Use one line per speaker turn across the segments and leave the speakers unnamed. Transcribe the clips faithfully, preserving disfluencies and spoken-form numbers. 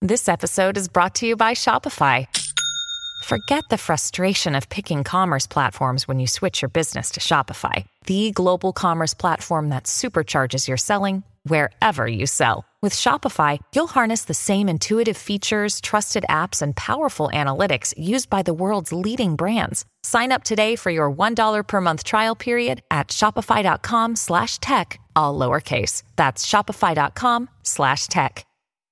This episode is brought to you by Shopify. Forget the frustration of picking commerce platforms when you switch your business to Shopify, the global commerce platform that supercharges your selling wherever you sell. With Shopify, you'll harness the same intuitive features, trusted apps, and powerful analytics used by the world's leading brands. Sign up today for your one dollar per month trial period at shopify.com slash tech, all lowercase. That's shopify.com slash tech.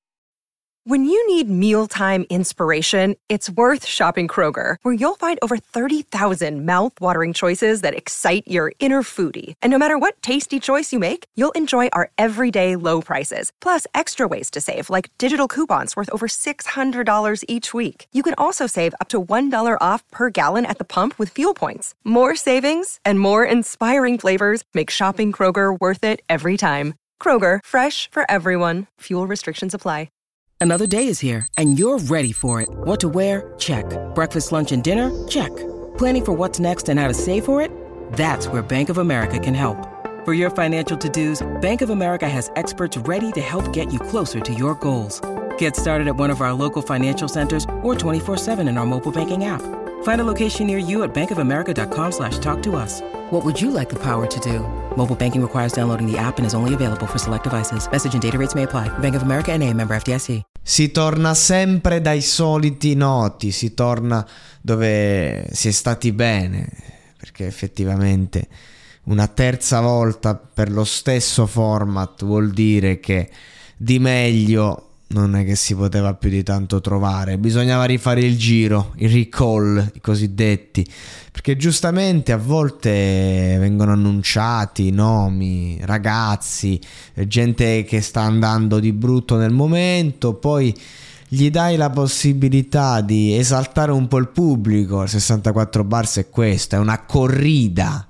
When you need mealtime inspiration, it's worth shopping Kroger, where you'll find over thirty thousand mouth-watering choices that excite your inner foodie. And no matter what tasty choice you make, you'll enjoy our everyday low prices, plus extra ways to save, like digital coupons worth over six hundred dollars each week. You can also save up to one dollar off per gallon at the pump with fuel points. More savings and more inspiring flavors make shopping Kroger worth it every time. Kroger, fresh for everyone. Fuel restrictions apply.
Another day is here, and you're ready for it. What to wear? Check. Breakfast, lunch, and dinner? Check. Planning for what's next and how to save for it? That's where Bank of America can help. For your financial to-dos, Bank of America has experts ready to help get you closer to your goals. Get started at one of our local financial centers or twenty-four seven in our mobile banking app. Find a location near you at bankofamerica.com slash talk to us. What would you like the power to do? Mobile banking requires downloading the app and is only available for select devices. Message and data rates may apply. Bank of America N A, member F D I C.
Si torna sempre dai soliti noti, si torna dove si è stati bene, perché effettivamente una terza volta per lo stesso format vuol dire che di meglio non è che si poteva più di tanto trovare. Bisognava rifare il giro, i recall, i cosiddetti, perché giustamente a volte vengono annunciati nomi, ragazzi, gente che sta andando di brutto nel momento, poi gli dai la possibilità di esaltare un po' il pubblico. Il sessantaquattro bars è questo, è una corrida.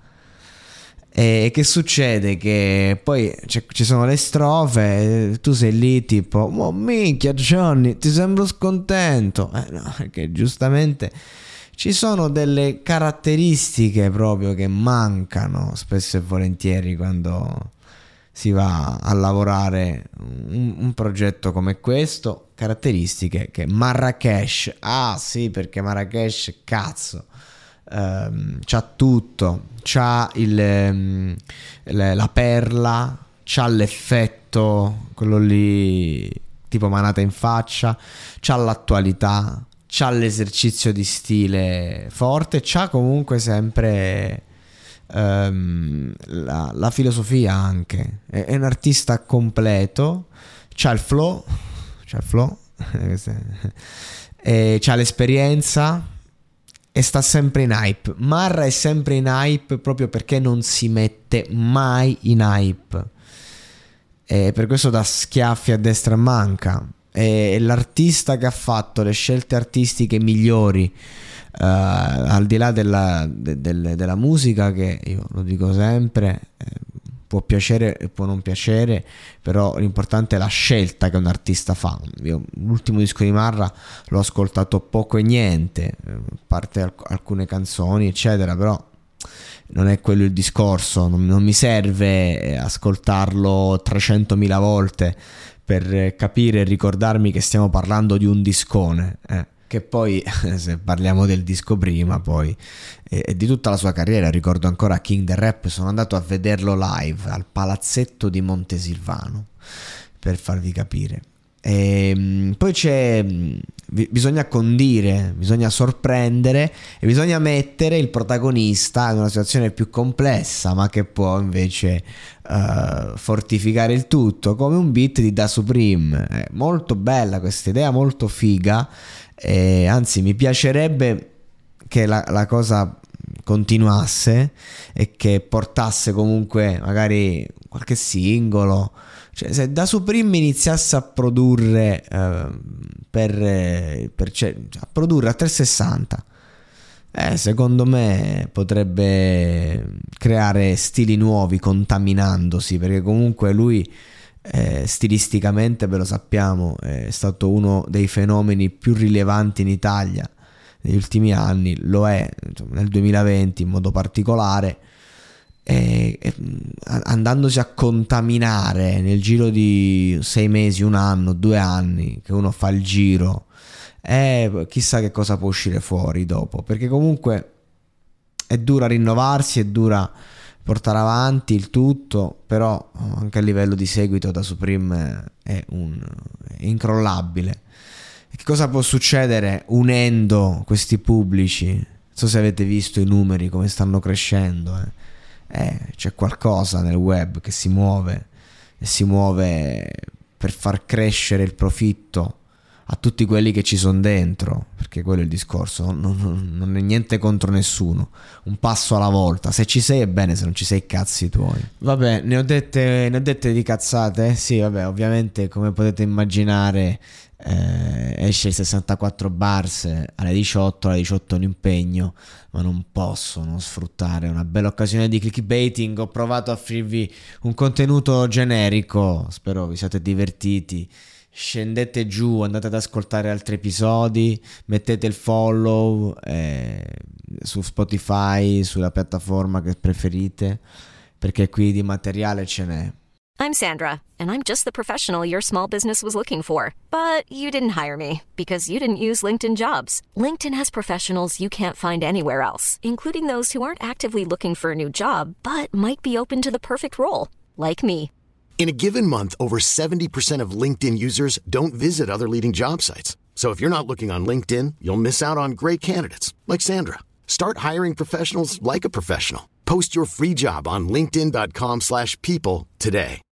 E che succede? Che poi ci sono le strofe, tu sei lì tipo oh minchia Johnny, ti sembro scontento. Eh no, perché giustamente ci sono delle caratteristiche proprio che mancano spesso e volentieri quando si va a lavorare un, un progetto come questo. Caratteristiche che Marrakesh, ah sì, perché Marrakesh cazzo Um, c'ha tutto, c'ha il, um, le, la perla, c'ha l'effetto, quello lì tipo manata in faccia, c'ha l'attualità, c'ha l'esercizio di stile forte, c'ha comunque sempre um, la, la filosofia anche, è, è un artista completo, c'ha il flow, c'ha il flow e c'ha l'esperienza e sta sempre in hype. Marra è sempre in hype proprio perché non si mette mai in hype, e per questo dà schiaffi a destra e manca. È l'artista che ha fatto le scelte artistiche migliori, uh, al di là della, de, de, della musica, che io lo dico sempre, eh, può piacere e può non piacere, però l'importante è la scelta che un artista fa. Io l'ultimo disco di Marra l'ho ascoltato poco e niente, a parte alc- alcune canzoni eccetera, però non è quello il discorso. Non, non mi serve ascoltarlo trecentomila volte per capire e ricordarmi che stiamo parlando di un discone, eh. Che poi, se parliamo del disco prima, poi e eh, di tutta la sua carriera, ricordo ancora King the Rap, sono andato a vederlo live al Palazzetto di Montesilvano, per farvi capire. E poi c'è, bisogna condire, bisogna sorprendere e bisogna mettere il protagonista in una situazione più complessa, ma che può invece uh, fortificare il tutto, come un beat di Da Supreme. È molto bella questa idea, molto figa. E anzi, mi piacerebbe che la, la cosa continuasse e che portasse comunque magari qualche singolo. Cioè, se Da Supreme iniziasse a produrre eh, per, per cioè, a produrre a trecentosessanta, eh, secondo me potrebbe creare stili nuovi contaminandosi, perché comunque lui Eh, stilisticamente, ve lo sappiamo, è stato uno dei fenomeni più rilevanti in Italia negli ultimi anni, lo è insomma, nel duemilaventi in modo particolare, e, e, andandosi a contaminare nel giro di sei mesi, un anno, due anni che uno fa il giro, e chissà che cosa può uscire fuori dopo, perché comunque è dura rinnovarsi, è dura portare avanti il tutto, però anche a livello di seguito da Supreme è, un, è incrollabile. E che cosa può succedere unendo questi pubblici? Non so se avete visto i numeri come stanno crescendo, eh. Eh, c'è qualcosa nel web che si muove e si muove per far crescere il profitto a tutti quelli che ci sono dentro, perché quello è il discorso, non, non, non è niente contro nessuno, un passo alla volta, se ci sei è bene, se non ci sei cazzi tuoi. Vabbè, ne ho dette, ne ho dette di cazzate, eh? Sì, vabbè, ovviamente come potete immaginare eh, esce il sessantaquattro bars alle diciotto, alle diciotto è un impegno, ma non posso non sfruttare una bella occasione di clickbaiting. Ho provato a offrirvi un contenuto generico, spero vi siate divertiti. Scendete giù, andate ad ascoltare altri episodi, mettete il follow eh, su Spotify, sulla piattaforma che preferite, perché qui di materiale ce n'è.
I'm Sandra, and I'm just the professional your small business was looking for. But you didn't hire me because you didn't use LinkedIn Jobs. LinkedIn has professionals you can't find anywhere else, including those who aren't actively looking for a new job, but might be open to the perfect role, like me.
In a given month, over seventy percent of LinkedIn users don't visit other leading job sites. So if you're not looking on LinkedIn, you'll miss out on great candidates like Sandra. Start hiring professionals like a professional. Post your free job on linkedin dot com slash people today.